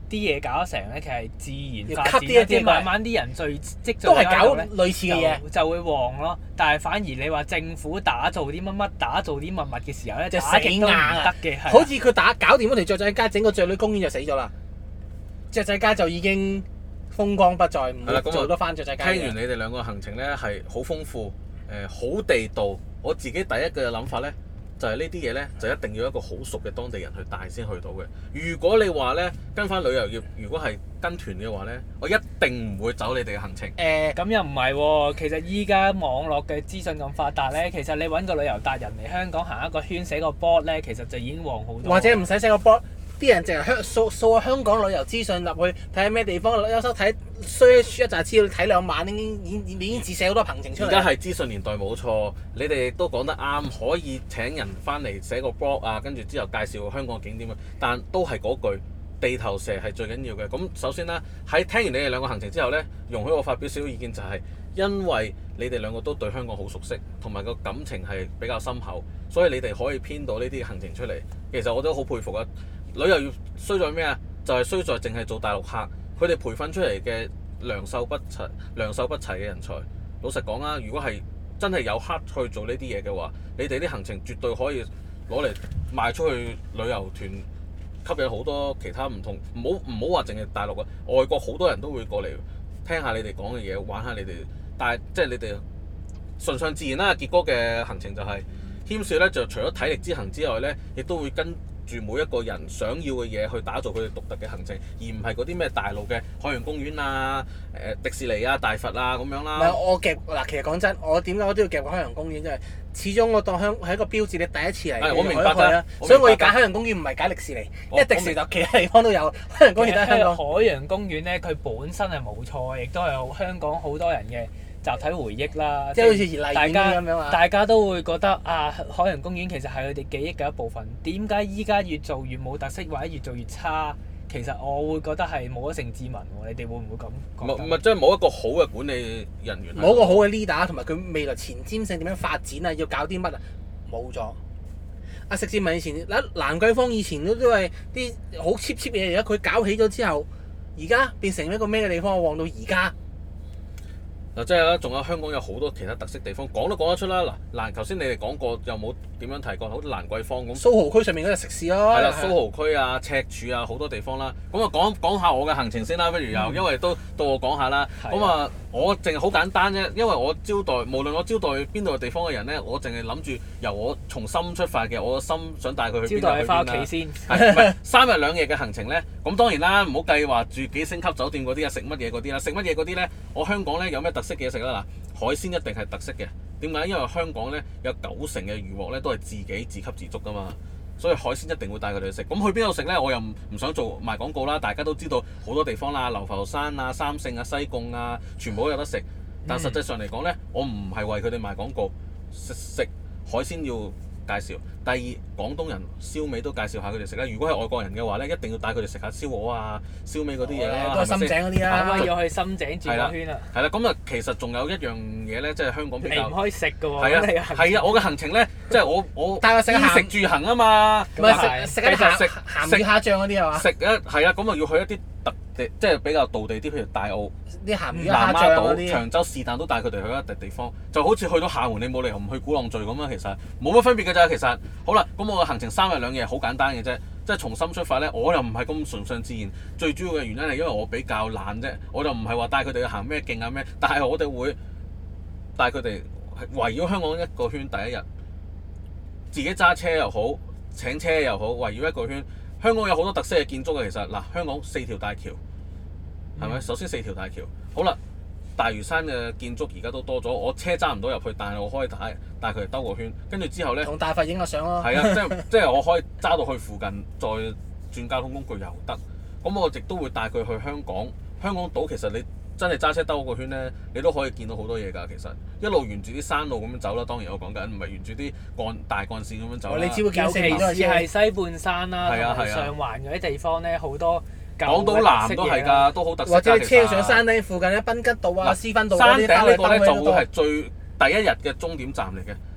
啲嘢搞得成咧，其實係自然發要展 cut 啲即係慢慢啲人積聚都係搞喺度咧類似嘅嘢。 就會旺咯。但係反而你話政府打造啲乜乜，打造啲乜乜嘅時候咧， 就打極都唔死硬啊得嘅。係啊好似佢搞掂嗰條雀仔街，整個雀女公園就死咗啦。雀仔街就已經風光不再，唔會做得翻雀仔街嘅。 聽完你哋兩個行程咧係好豐富，好地道。我自己第一嘅諗法咧，就係呢啲嘢咧就一定要一個好熟嘅當地人去帶先去到嘅。如果你話咧跟翻旅遊業，如果係跟團嘅話咧，我一定唔會走你哋嘅行程。 咁又唔係喎，其實依家網絡嘅資訊咁發達咧，其實你揾個旅遊達人嚟香港行一個圈，寫個 board 咧，其實就已經旺好多。 或者唔使寫個 board，啲人淨係掃香港旅遊資訊入去睇下咩地方，有時候睇 search 一紮資料睇2晚已經自寫好多行程出嚟。 而家係資訊年代冇錯，你哋亦都講得啱，可以請人翻嚟寫個 blog 啊，跟住之後介紹香港嘅景點啊，但都係嗰句。地頭蛇係最緊要嘅。咁首先啦，喺聽完你哋兩個行程之後咧，容許我發表少少意見，就係因為你哋兩個都對香港好熟悉，同埋個感情係比較深厚，所以你哋可以編到呢啲行程出嚟。其實我都好佩服啊！旅遊業衰在咩啊？就係衰在淨係做大陸客，佢哋培訓出嚟嘅良莠不齊嘅人才。老實講啊，如果係真係有黑去做呢啲嘢嘅話，你哋啲行程絕對可以攞嚟賣出去旅遊團。吸引好多其他唔同，唔好話淨係大陸啊，外國好多人都會過嚟聽下你哋講嘅嘢，玩下你哋，但係即係你哋順順自然啦。傑哥嘅行程就係謙少咧，就除咗體力之行之外咧，亦都會跟住每一個人想要嘅嘢去打造佢哋獨特嘅行程，而唔係嗰啲咩大陸嘅海洋公園啊、迪士尼啊、大佛啊咁樣啦。 唔係我夾嗱，其實講真，我點解我都要夾海洋公園？即係始終我當係一個標誌，你第一次嚟， 我明白㗎， 所以我要揀海洋公園，唔係揀迪士尼。因為迪士尼就其他地方都有，海洋公園都係香港。 海洋公園咧，佢本身係冇錯，亦都係香港好多人嘅集體回憶啦。 即係好似熱麗園咁樣啊！ 大家都會覺得啊，海洋公園其實係佢哋記憶嘅一部分。點解依家越做越冇特色，或者越做越差？其實我會覺得係冇咗盛智文喎，你哋會唔會咁講？ 唔係，即係冇一個好嘅管理人員。 冇一個好嘅 leader，同埋佢未來前瞻性點樣發展啊？要搞啲乜啊？冇咗。阿盛智文以前蘭桂坊以前都係啲好 cheap 嘢，而家佢搞起咗之後，而家變成一個咩嘅地方？旺到而家。 嗱，即係啦，仲有香港有好多其他特色地方，講都講得出啦。嗱，頭先你哋講過，又冇點樣提過，好似蘭桂坊咁。 蘇豪區上面嗰隻食肆咯。 係啦，蘇豪區啊、赤柱啊，好多地方啦。咁啊，講下我嘅行程先啦，不如又，因為都到我講下啦。咁啊，我淨係好簡單啫，因為我招待，無論我招待邊度嘅地方嘅人咧，我淨係諗住由我從心出發嘅，我個心想帶佢去邊度去邊啦。招待翻屋企先。係唔係3日2夜嘅行程咧？咁當然啦，唔好計話住幾星級酒店嗰啲啊，食乜嘢嗰啲啦，食乜嘢嗰啲咧，我香港咧有咩特色嘅嘢食啦？嗱，海鮮一定係特色嘅。點解？因為香港咧有90%嘅漁獲咧都係自給自足噶嘛，所以海鮮一定會帶佢哋去食。咁去邊度食咧？我又唔想做賣廣告啦。大家都知道好多地方啦，流浮山啊、三聖啊、西貢啊，全部都有得食。但實際上嚟講咧，我唔係為佢哋賣廣告，食海鮮要介紹。第二，廣東人燒味都介紹下佢哋食啦。如果係外國人嘅話咧，一定要帶佢哋食下燒鵝啊、燒味嗰啲嘢啦。 都係深井嗰啲啦。 咁要去深井轉個圈啊。 係啦，咁啊，其實仲有一樣嘢咧，即係香港比較。 你唔可以食㗎喎。 係啊，我嘅行程咧，即係我帶我食衣食住行啊嘛。 唔係食鹹魚蝦醬嗰啲係嘛？ 食係啊，咁啊要去一啲特地，即係比較道地啲，譬如大澳、 啲鹹魚南丫島、 蝦醬嗰啲。 長洲是但都帶佢哋去一笪地方，就好似去到廈門，你冇理由唔去鼓浪嶼咁啊！其實冇乜分別㗎咋，其實。好啦，咁我嘅行程3日2夜好簡單嘅啫，即係從心出發咧，我又唔係咁順順自然。最主要嘅原因係因為我比較懶啫，我就唔係話帶佢哋去行咩徑啊咩，但係我哋會帶佢哋圍繞香港一個圈。第一日自己揸車又好，請車又好，圍繞一個圈。香港有好多特色嘅建築嘅，其實嗱，香港4條大橋，係咪？首先4條大橋，好啦，大嶼山嘅建築而家都多咗，我車揸唔到入去，但係我可以帶佢哋兜個圈，跟住之後咧， 同大佛影個相咯。 係啊，即係我可以揸到去附近，再轉交通工具又得。咁我亦都會帶佢去香港。香港島其實你真係揸車兜個圈咧，你都可以見到好多嘢㗎。其實一路沿住啲山路咁樣走啦，當然我講緊唔係沿住啲大幹線咁樣走啦。 你只會見尤其是係西半山啦，同埋上環嗰啲地方咧，好多港島南都係㗎，都好特色。 或者你車上山頂附近咧，賓吉道啊、斯芬道嗰啲， 山頂呢個咧就會係第一日嘅終點站嚟嘅。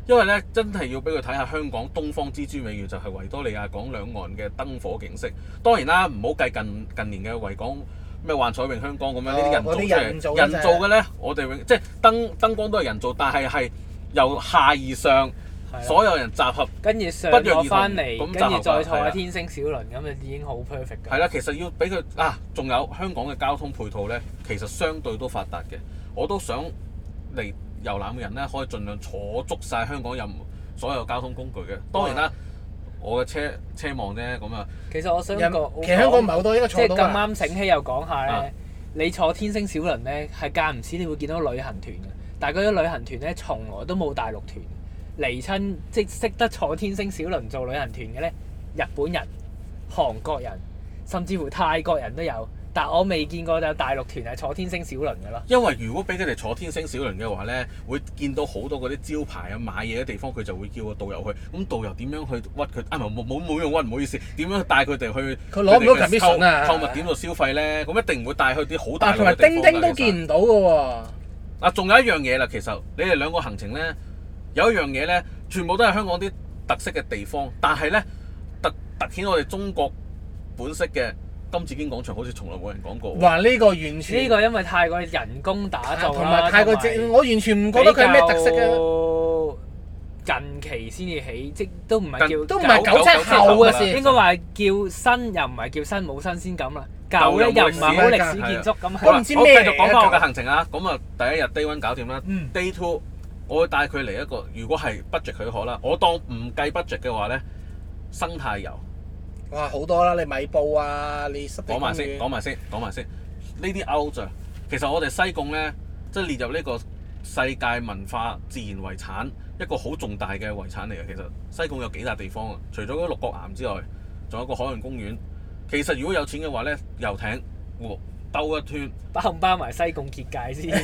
因為咧真係要俾佢睇下香港東方之珠美譽就係維多利亞港兩岸嘅燈火景色。當然啦，唔好計近年嘅維港咩幻彩詠香江咁樣呢啲人造出嚟，人造嘅咧，我哋即係燈光都係人造，但係由下而上，所有人集合， 跟住上咗翻嚟，跟住再坐喺天星小輪咁就已經好 perfect 㗎。 係啦，其實要俾佢仲有香港嘅交通配套咧，其實相對都發達嘅。我都想嚟遊覽嘅人咧，可以盡量坐足晒香港所有交通工具嘅。當然啦，我嘅車望啫咁啊。 其實我想講， 其實香港唔係好多應該坐到。 即係咁啱醒起又講下咧，你坐天星小輪咧係間唔時你會見到旅行團嘅，但係嗰啲旅行團咧從來都冇大陸團嚟親，即係識得坐天星小輪做旅行團嘅咧，日本人、韓國人，甚至乎泰國人都有。但我未見過有大陸團係坐天星小輪嘅咯。因為如果俾佢哋坐天星小輪嘅話咧，會見到好多嗰啲招牌啊、買嘢嘅地方，佢就會叫個導遊去。咁導遊點樣去屈佢？冇用屈，唔好意思。點樣帶佢哋去？ 佢攞唔到 commission 啊！ 購物點度消費咧，咁一定唔會帶去啲好大嘅地方。 同埋叮叮都見唔到嘅喎。 仲有一樣嘢啦，其實你哋兩個行程咧，有一樣嘢咧，全部都係香港啲特色嘅地方，但係咧突顯我哋中國本色嘅。金紫荊廣場好似從來冇人講過。 哇！呢個完全呢個因為太過人工打造啦， 同埋太過我完全唔覺得佢係咩特色嘅。 近期先至起，即都唔係叫都唔係97後嘅事， 應該話叫新又唔係叫新，冇新鮮感啦。舊咧又唔係好歷史建築咁。 我唔知咩嚟嘅。 我繼續講翻我嘅行程啊！咁啊，第一日 Day 1搞掂啦。Day 2我會帶佢嚟一個，如果係 budget 許可啦，我當唔計 budget 嘅話咧，生態遊。 哇！好多啦，你米埔啊，你濕地公園。 講埋先。呢啲 out 咋？其實我哋西貢咧，即係列入呢個世界文化自然遺產一個好重大嘅遺產嚟嘅。其實西貢有幾笪地方啊，除咗嗰六角岩之外，仲有個海洋公園。其實如果有錢嘅話咧，遊艇兜一圈， 包唔包埋西貢結界先？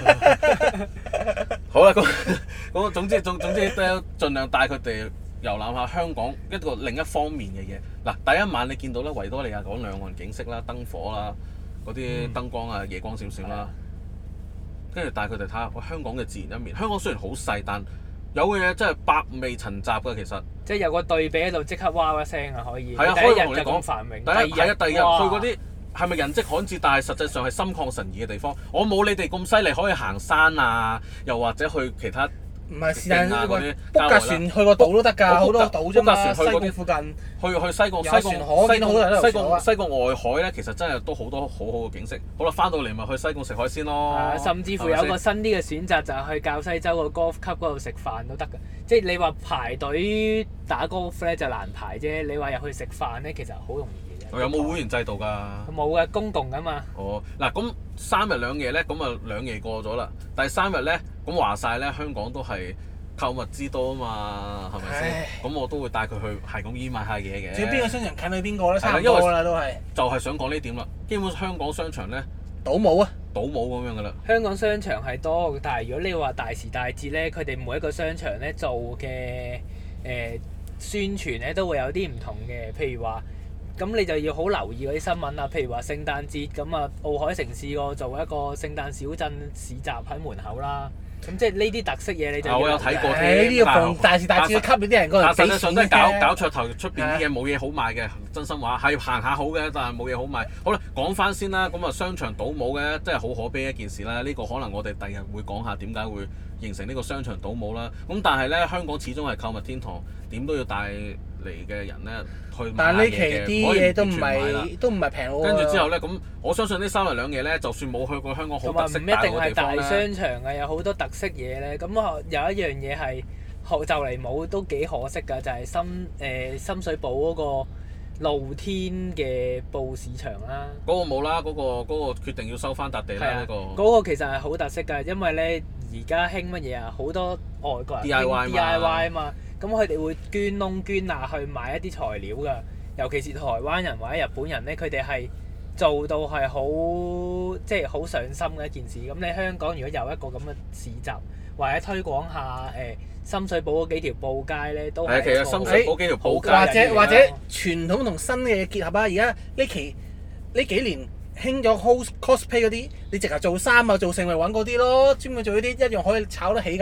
好啦，咁總之都盡量帶佢哋遊覽下香港一個另一方面嘅嘢。嗱，第一晚你見到咧維多利亞港兩岸景色啦、燈火啦、嗰啲燈光啊、夜光閃閃啦，跟住帶佢哋睇下香港嘅自然一面。香港雖然好細，但有嘅嘢真係百味陳雜㗎。其實即係有個對比喺度，即刻哇一聲啊！可以。 係啊， 可以同你講繁榮。 第一日去嗰啲係咪人跡罕至，但係實際上係心曠神怡嘅地方。我冇你哋咁犀利，可以行山啊，又或者去其他。 唔係是但嗰啲 book 架船去個島都得㗎，好多島啫嘛。西貢附近去西貢西貢外海咧，其實真係都好多好好嘅景色。好啦，翻到嚟咪去西貢食海鮮咯。 甚至乎有個新啲嘅選擇就係去滘西洲個 golf club 嗰度食飯都得㗎。即係你話排隊打 golf 咧就難排啫，你話入去食飯咧其實好容易嘅啫。 有冇會員制度㗎？ 冇嘅，公共㗎嘛。 嗱咁3日2夜咧，咁啊2夜過咗啦。第3日咧。咁話晒咧，香港都係購物之都啊嘛，係咪先？咁我都會帶佢去係咁依買下嘢嘅。 至於邊個商場近去邊個咧？差唔多啦，都係。 就係想講呢點啦。基本香港商場咧， 倒冇啊， 倒冇咁樣噶啦。 香港商場係多，但係如果你話大時大節咧，佢哋每一個商場咧做嘅宣傳咧都會有啲唔同嘅，譬如話。咁你就要好留意嗰啲新聞啦，譬如話聖誕節咁啊，奧海城試過做一個聖誕小鎮市集喺門口啦。咁即係呢啲特色嘢你就我有睇過添。 呢啲要逢大時大節吸引啲人過嚟俾錢嘅。 實際上都係搞噱頭，出邊啲嘢冇嘢好賣嘅，真心話係行下好嘅，但係冇嘢好賣。好啦，講翻先啦，咁啊商場倒冇嘅，真係好可悲一件事啦。呢個可能我哋第日會講下點解會形成呢個商場倒冇啦。咁但係咧，香港始終係購物天堂，點都要帶嚟嘅人咧去買嘢嘅。但係呢期啲嘢都唔係平喎。跟住之後咧，咁我相信呢3日2夜咧，就算冇去過香港好特色大嘅地方咧，唔一定係大商場嘅，有好多特色嘢咧。咁有一樣嘢係就嚟冇都幾可惜㗎，就係深水埗嗰個露天嘅布市場啦。嗰個冇啦，嗰個決定要收翻笪地啦。嗰個其實係好特色㗎，因為咧而家興乜嘢啊？好多外國人 DIY 啊嘛。咁佢哋會捐窿捐罅去買一啲材料㗎，尤其是台灣人或者日本人咧，佢哋係做到係好上心嘅一件事。咁你香港如果有一個咁嘅市集，或者推廣下深水埗嗰幾條布街咧，都係其實深水埗幾條布街或者傳統同新嘅嘢結合啊！而家呢幾年興咗 cosplay 嗰啲，你直頭做衫啊做成咪揾嗰啲咯，專門做呢啲一樣可以炒得起㗎。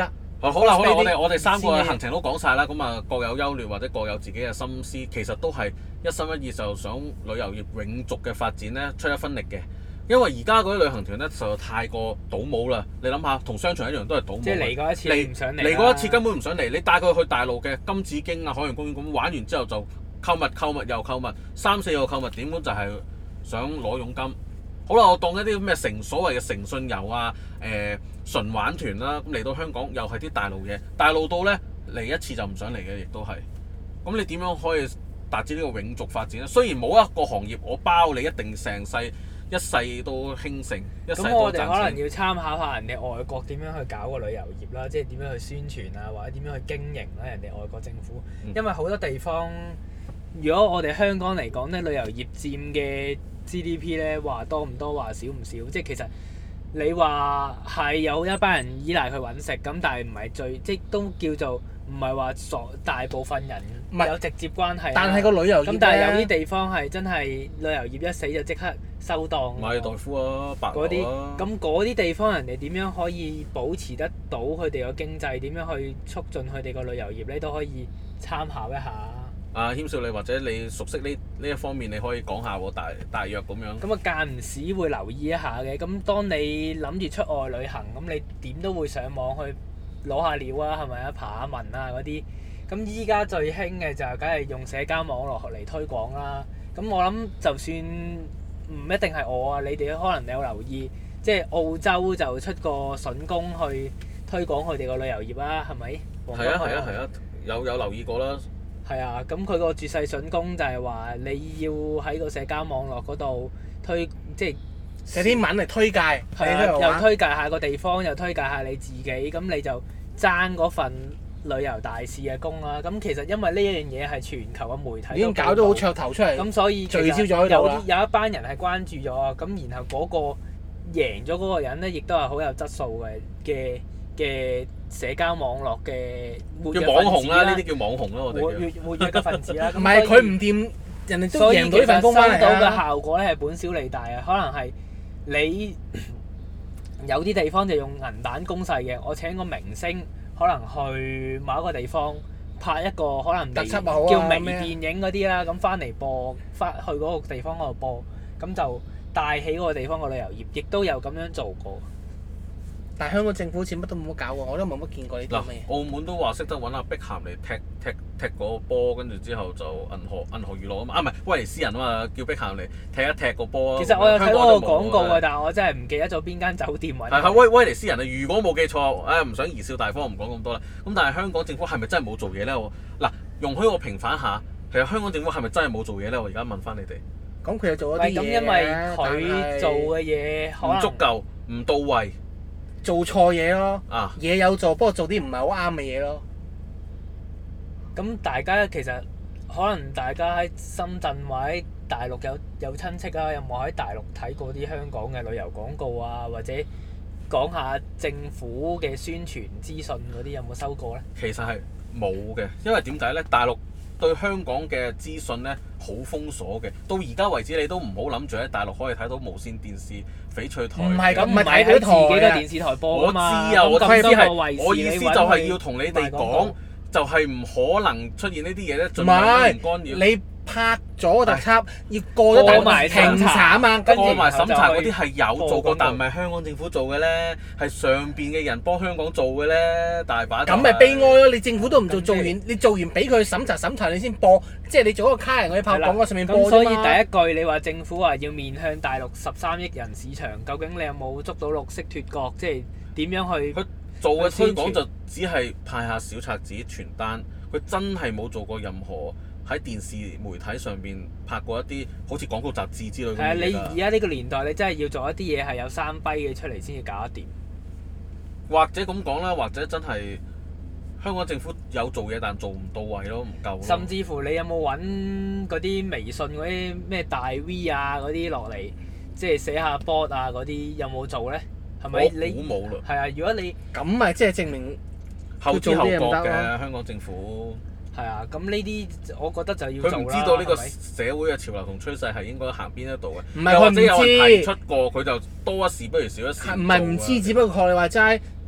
好啦，我哋三個嘅行程都講晒啦，咁啊各有優劣或者各有自己嘅心思，其實都係一心一意就想旅遊業永續嘅發展咧出一分力嘅。因為而家嗰啲旅行團咧實在太過倒模啦，你諗下同商場一樣都係倒模。 即係嚟過一次唔想嚟。 嚟過一次根本唔想嚟，你帶佢去大陸嘅金紫荊啊、海洋公園咁玩完之後就購物又購物，3-4個購物點咁就係想攞佣金。好啦，我當一啲咩所謂嘅誠信遊啊、純玩團啦，咁嚟到香港又係啲大陸嘢，大陸到咧嚟一次就唔想嚟嘅，亦都係。咁你點樣可以達至呢個永續發展咧？雖然冇一個行業我包你一定成世一世都興盛，一世都賺錢。 咁我哋可能要參考下人哋外國點樣去搞個旅遊業啦，即係點樣去宣傳啊，或者點樣去經營啦，人哋外國政府。因為好多地方，如果我哋香港嚟講咧，旅遊業佔嘅 GDP 咧話多唔多，話少唔少，即係其實你話係有一班人依賴佢揾食，咁但係唔係最，即係都叫做唔係話大部分人有直接關係。 但係個旅遊業咁但係有啲地方係真係旅遊業一死就即刻收檔。 馬爾代夫啊，白嗰啲啊， 咁嗰啲地方人哋點樣可以保持得到佢哋個經濟？點樣去促進佢哋個旅遊業咧？都可以參考一下。 阿謙少你或者你熟悉呢一方面，你可以講下喎，大約咁樣。 咁啊間唔時會留意一下嘅。咁當你諗住出外旅行，咁你點都會上網去攞下料啊，係咪啊？爬下文啊嗰啲。咁依家最興嘅就梗係用社交網絡嚟推廣啦。咁我諗就算唔一定係我啊，你哋可能有留意，即係澳洲就出個筍工去推廣佢哋個旅遊業啊，係咪？ 係啊，有留意過啦。 係啊，咁佢個絕世筍工就係話你要喺個社交網絡嗰度即係寫啲文嚟推介， 係啊，又推介下個地方，又推介下你自己，咁你就爭嗰份旅遊大使嘅工啦。咁其實因為呢一樣嘢係全球嘅媒體已經搞到好噱頭出嚟， 咁所以聚焦咗喺度啦。 有一班人係關注咗，咁然後嗰個贏咗嗰個人咧，亦都係好有質素嘅社交網絡嘅活躍分子叫網紅啦，呢啲叫網紅啦，我哋活躍嘅分子啦。 唔係佢唔掂，人哋都贏到呢份工收到翻嚟啦。 嘅效果咧係本小利大啊，可能係你有啲地方就用銀彈攻勢嘅，我請個明星可能去某一個地方拍一個可能特輯啊好啊叫微電影嗰啲啦，咁翻嚟播，翻去嗰個地方嗰度播，咁就帶起嗰個地方個旅遊業，亦都有咁樣做過。 但係香港政府好似乜都冇乜搞喎，我都冇乜見過呢啲嗱咩。 澳門都話識得揾阿碧咸嚟踢個波，跟住之後就銀河娛樂啊嘛，唔係威尼斯人啊嘛，叫碧咸嚟踢一踢個波。 其實我有睇過個廣告嘅， 但係我真係唔記得咗邊間酒店揾。 係威尼斯人啊！如果冇記錯，唔想貽笑大方，唔講咁多啦。咁但係香港政府係咪真係冇做嘢咧？嗱，容許我平反下，其實香港政府係咪真係冇做嘢咧？我而家問翻你哋。 咁佢又做咗啲嘢咁，因為佢做嘅嘢可能唔足夠，唔到位， 做錯嘢咯。 啊！ 嘢有做，不過做啲唔係好啱嘅嘢咯。 咁大家其實可能大家喺深圳或者大陸有親戚啊，有冇喺大陸睇過啲香港嘅旅遊廣告啊，或者講下政府嘅宣傳資訊嗰啲有冇收過咧？ 其實係冇嘅，因為點解咧？大陸對香港嘅資訊咧好封鎖嘅，到而家為止你都唔好諗住喺大陸可以睇到無線電視、翡翠台。 唔係咁，唔係喺睇自己嘅台啊電視台播我知㗎嘛。 啊，我咁意思多個衛視係，我意思就係要同你哋講，就係唔可能出現呢啲嘢咧，盡量不干擾。 你拍咗特輯，要過咗大埋評查啊嘛，跟住過埋審查嗰啲係有做過， 播但唔係香港政府做嘅咧，係上邊嘅人幫香港做嘅咧，大把。 咁咪悲哀咯！你政府都唔做，做完你做完俾佢審查，你先播，即係你做一個卡人去拍廣告上面播啫嘛。 咁所以第一句你話政府話要面向大陸13億人市場，究竟你有冇捉到綠色脫角？即係點樣去？ 佢做嘅推廣就只係派下小冊子傳單，佢真係冇做過任何喺電視媒體上邊拍過一啲好似廣告雜誌之類嘅嘢㗎。 係啊，你而家呢個年代，你真係要做一啲嘢係有三跛嘅出嚟先至搞得掂。 或者咁講啦，或者真係香港政府有做嘢，但做唔到位咯，唔夠咯。 甚至乎你有冇揾嗰啲微信嗰啲咩大 V 啊嗰啲落嚟，即係寫下 board 啊嗰啲，有冇做咧？係咪你？ 我估冇啦。 係啊，如果你咁咪即係證明後知後覺做啲嘢唔得嘅香港政府。 係啊，咁呢啲我覺得就要做啦。 佢唔知道呢個係咪社會嘅潮流同趨勢係應該行邊一度嘅， 唔係又或者有佢唔知人提出過，佢就多一事不如少一事。 唔係唔知，只不過學你話齋，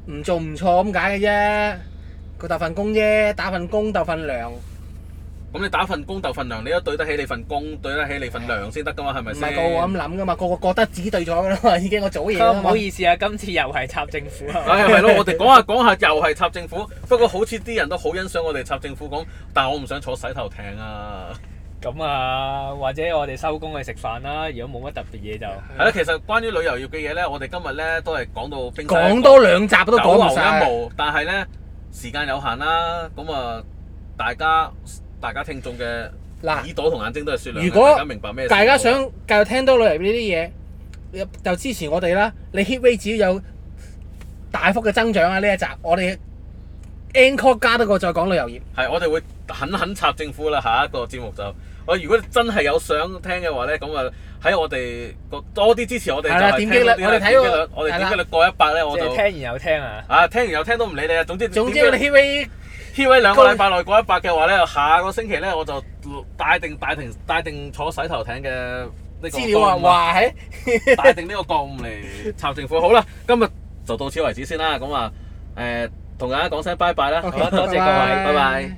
唔做唔錯咁解嘅啫，佢鬥份工啫，打份工鬥份糧。 咁你打份工鬥份糧，你都對得起你份工，對得起你份糧先得噶嘛，係咪先？ 唔係個個咁諗噶嘛，個個覺得自己對咗噶啦嘛，已經我做嘢啦嘛。 唔好意思啊，今次又係插政府啊。 係咯，我哋講下又係插政府，不過好似啲人都好欣賞我哋插政府講，但係我唔想坐洗頭艇啊。 咁啊，或者我哋收工去食飯啦。如果冇乜特別嘢就係啦，其實關於旅遊業嘅嘢咧，我哋今日咧都係講到冰山講多兩集都講唔晒。 九牛一毛，但係咧時間有限啦，咁啊大家聽眾嘅耳朵同眼睛都係雪亮嘅， 如果大家明白咩？ 大家想繼續聽多旅遊呢啲嘢，就支持我哋啦。你 hit rate 只要有大幅嘅增長啊！呢一集我哋 encore 加多個再講旅遊業。 係，我哋會狠插政府啦。下一個節目就如果真係有想聽嘅話咧，咁啊喺我哋多啲支持我哋。係啦，點擊率我哋睇過， 我哋點擊率過100咧，我就聽完又聽啊！ 聽完又聽都唔理你啊！總之我哋 hit rate。 2個禮拜內過100嘅話咧，下個星期咧我就帶定坐洗頭艇嘅呢個資料啊，話係帶定呢個覺悟嚟插政府。好啦，今日就到此為止先啦。咁啊同大家講聲拜拜啦。 好啦，多謝各位， 拜拜。